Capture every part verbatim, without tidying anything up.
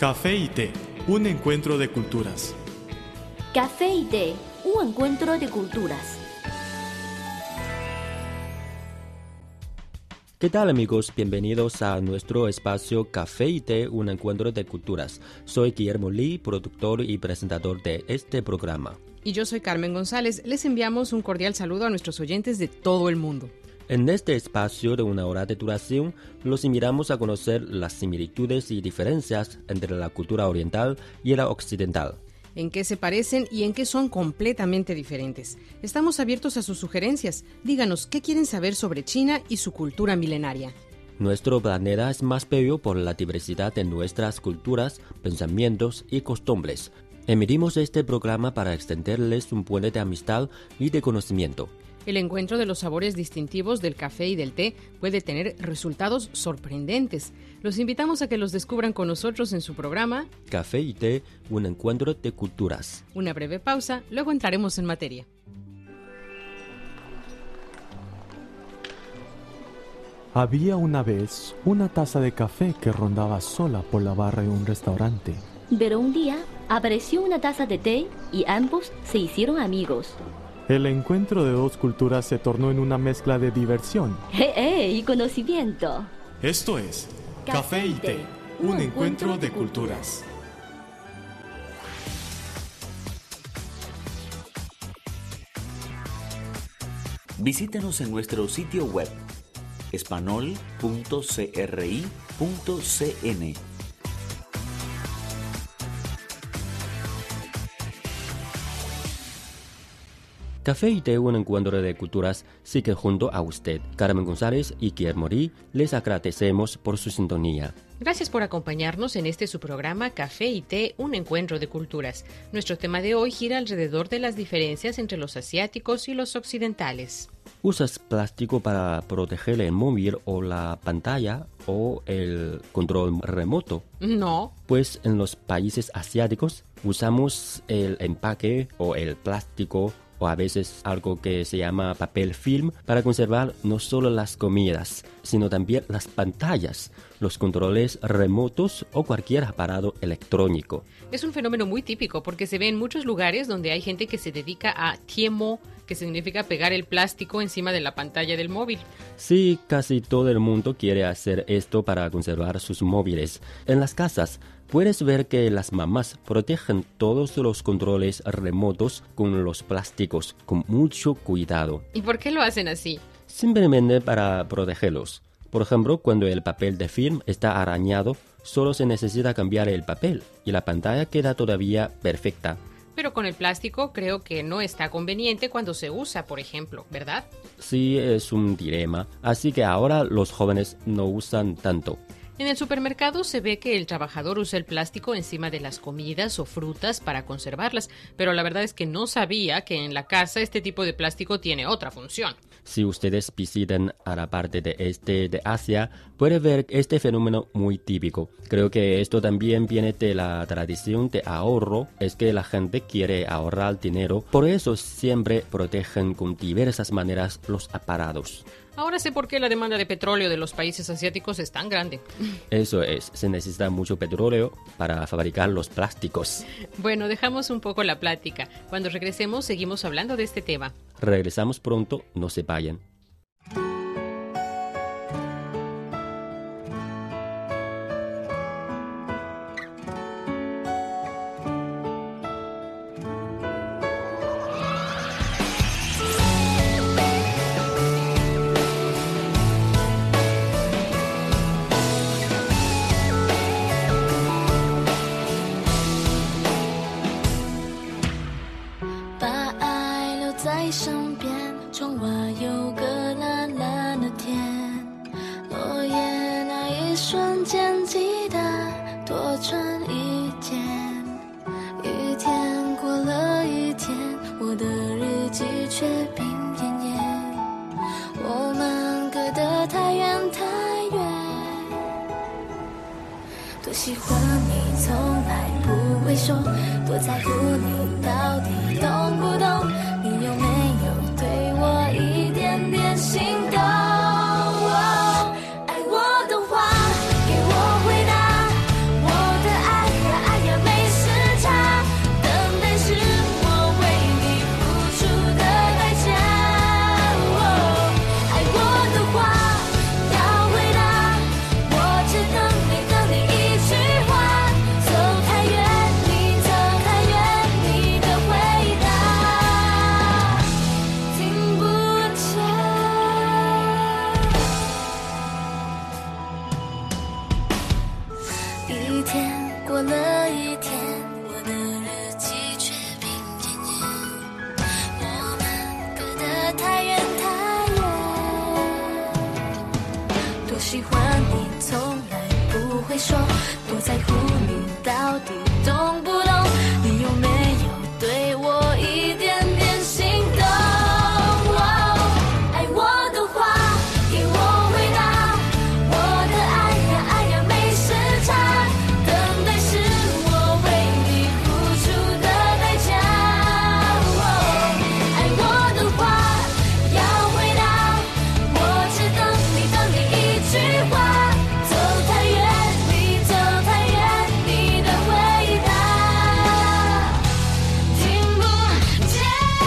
Café y té, un encuentro de culturas. Café y té, un encuentro de culturas. ¿Qué tal, amigos? Bienvenidos a nuestro espacio Café y té, un encuentro de culturas. Soy Guillermo Lee, productor y presentador de este programa. Y yo soy Carmen González. Les enviamos un cordial saludo a nuestros oyentes de todo el mundo. En este espacio de una hora de duración, los invitamos a conocer las similitudes y diferencias entre la cultura oriental y la occidental. En qué se parecen y en qué son completamente diferentes. Estamos abiertos a sus sugerencias. Díganos qué quieren saber sobre China y su cultura milenaria. Nuestro planeta es más bello por la diversidad de nuestras culturas, pensamientos y costumbres. Emitimos este programa para extenderles un puente de amistad y de conocimiento. El encuentro de los sabores distintivos del café y del té puede tener resultados sorprendentes. Los invitamos a que los descubran con nosotros en su programa Café y té, un encuentro de culturas. Una breve pausa, luego entraremos en materia. Había una vez una taza de café que rondaba sola por la barra de un restaurante. Pero un día apareció una taza de té y ambos se hicieron amigos. El encuentro de dos culturas se tornó en una mezcla de diversión ¡Eh, eh! Y conocimiento. Esto es Café y té, un encuentro de culturas. Visítenos en nuestro sitio web espanol punto cri punto cn. Café y té, un encuentro de culturas, sigue junto a usted. Carmen González y Guillermo Lee, les agradecemos por su sintonía. Gracias por acompañarnos en este su programa Café y té, un encuentro de culturas. Nuestro tema de hoy gira alrededor de las diferencias entre los asiáticos y los occidentales. ¿Usas plástico para proteger el móvil o la pantalla o el control remoto? No. Pues en los países asiáticos usamos el empaque o el plástico o a veces algo que se llama papel film para conservar no solo las comidas, sino también las pantallas, los controles remotos o cualquier aparato electrónico. Es un fenómeno muy típico porque se ve en muchos lugares donde hay gente que se dedica a tiemo, que significa pegar el plástico encima de la pantalla del móvil. Sí, casi todo el mundo quiere hacer esto para conservar sus móviles. En las casas puedes ver que las mamás protegen todos los controles remotos con los plásticos con mucho cuidado. ¿Y por qué lo hacen así? Simplemente para protegerlos. Por ejemplo, cuando el papel de film está arañado, solo se necesita cambiar el papel y la pantalla queda todavía perfecta. Pero con el plástico creo que no está conveniente cuando se usa, por ejemplo, ¿verdad? Sí, es un dilema. Así que ahora los jóvenes no usan tanto. En el supermercado se ve que el trabajador usa el plástico encima de las comidas o frutas para conservarlas, pero la verdad es que no sabía que en la casa este tipo de plástico tiene otra función. Si ustedes visitan a la parte de este de Asia, pueden ver este fenómeno muy típico. Creo que esto también viene de la tradición de ahorro, es que la gente quiere ahorrar dinero, por eso siempre protegen con diversas maneras los aparatos. Ahora sé por qué la demanda de petróleo de los países asiáticos es tan grande. Eso es, se necesita mucho petróleo para fabricar los plásticos. Bueno, dejamos un poco la plática. Cuando regresemos seguimos hablando de este tema. Regresamos pronto, no se vayan. 喜欢你从来不会说，多在乎你到底懂不懂，你有没有对我一点点心动、哦、爱我的话给我回答，我的爱多喜欢你，从来不会说，多在乎你，到底懂不懂？你有没有对我一点点心动？爱我的话给我回答，我的爱呀爱呀没时差，等待是我为你付出的代价。爱我的话要回答，我只等你等你一句话，走太远你走太远，你的回答听不见。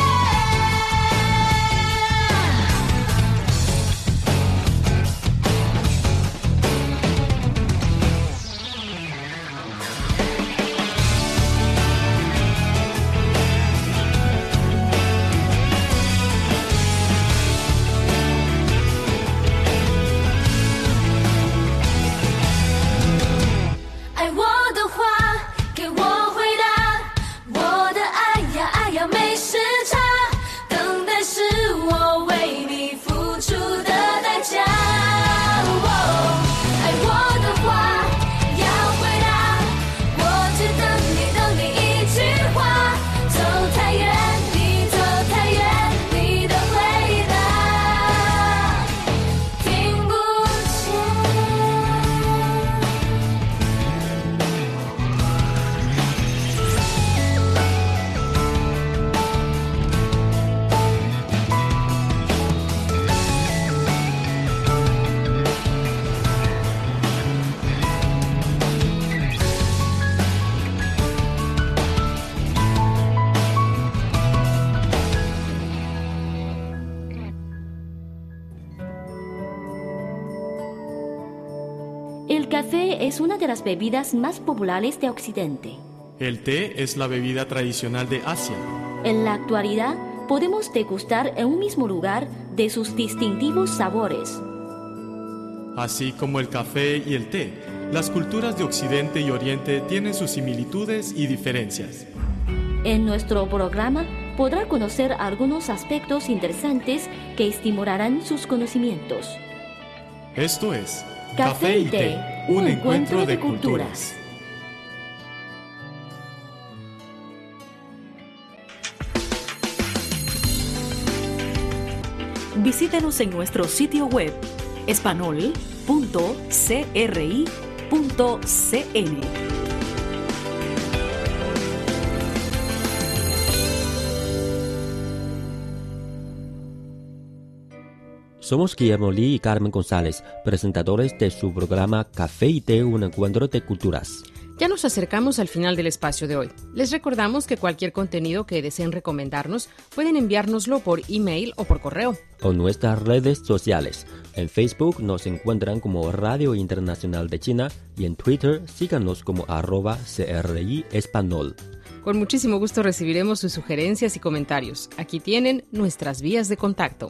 爱我的话给我回答，我的爱呀爱呀没时差，等待是我为你付出的代价。爱我的话要回答，我只等你等你一句话，走太远你走太远，你的回答听不见。 El café es una de las bebidas más populares de Occidente. El té es la bebida tradicional de Asia. En la actualidad, podemos degustar en un mismo lugar de sus distintivos sabores. Así como el café y el té, las culturas de Occidente y Oriente tienen sus similitudes y diferencias. En nuestro programa podrá conocer algunos aspectos interesantes que estimularán sus conocimientos. Esto es Café y té, un encuentro de culturas. Visítenos en nuestro sitio web espanol punto cri punto cn. Somos Guillermo Lee y Carmen González, presentadores de su programa Café y Té, un encuentro de culturas. Ya nos acercamos al final del espacio de hoy. Les recordamos que cualquier contenido que deseen recomendarnos pueden enviárnoslo por email o por correo. O nuestras redes sociales. En Facebook nos encuentran como Radio Internacional de China y en Twitter síganos como arroba CRI Espanol. Con muchísimo gusto recibiremos sus sugerencias y comentarios. Aquí tienen nuestras vías de contacto.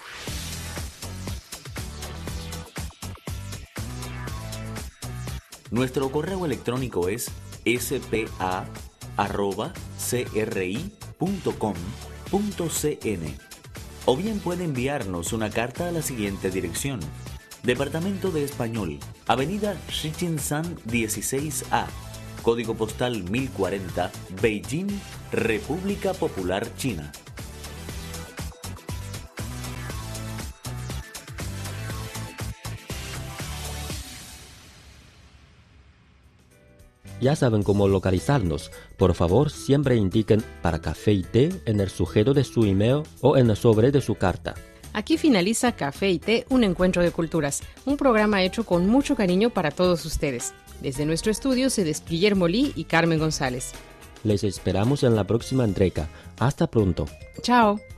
Nuestro correo electrónico es s p a arroba c r i punto com punto c n o bien puede enviarnos una carta a la siguiente dirección: Departamento de Español, Avenida Shijinshan dieciséis A, Código Postal mil cuarenta, Beijing, República Popular China. Ya saben cómo localizarnos. Por favor, siempre indiquen para café y té en el sujeto de su email o en el sobre de su carta. Aquí finaliza Café y Té, un encuentro de culturas, un programa hecho con mucho cariño para todos ustedes. Desde nuestro estudio se despide Guillermo Lee y Carmen González. Les esperamos en la próxima entrega. Hasta pronto. Chao.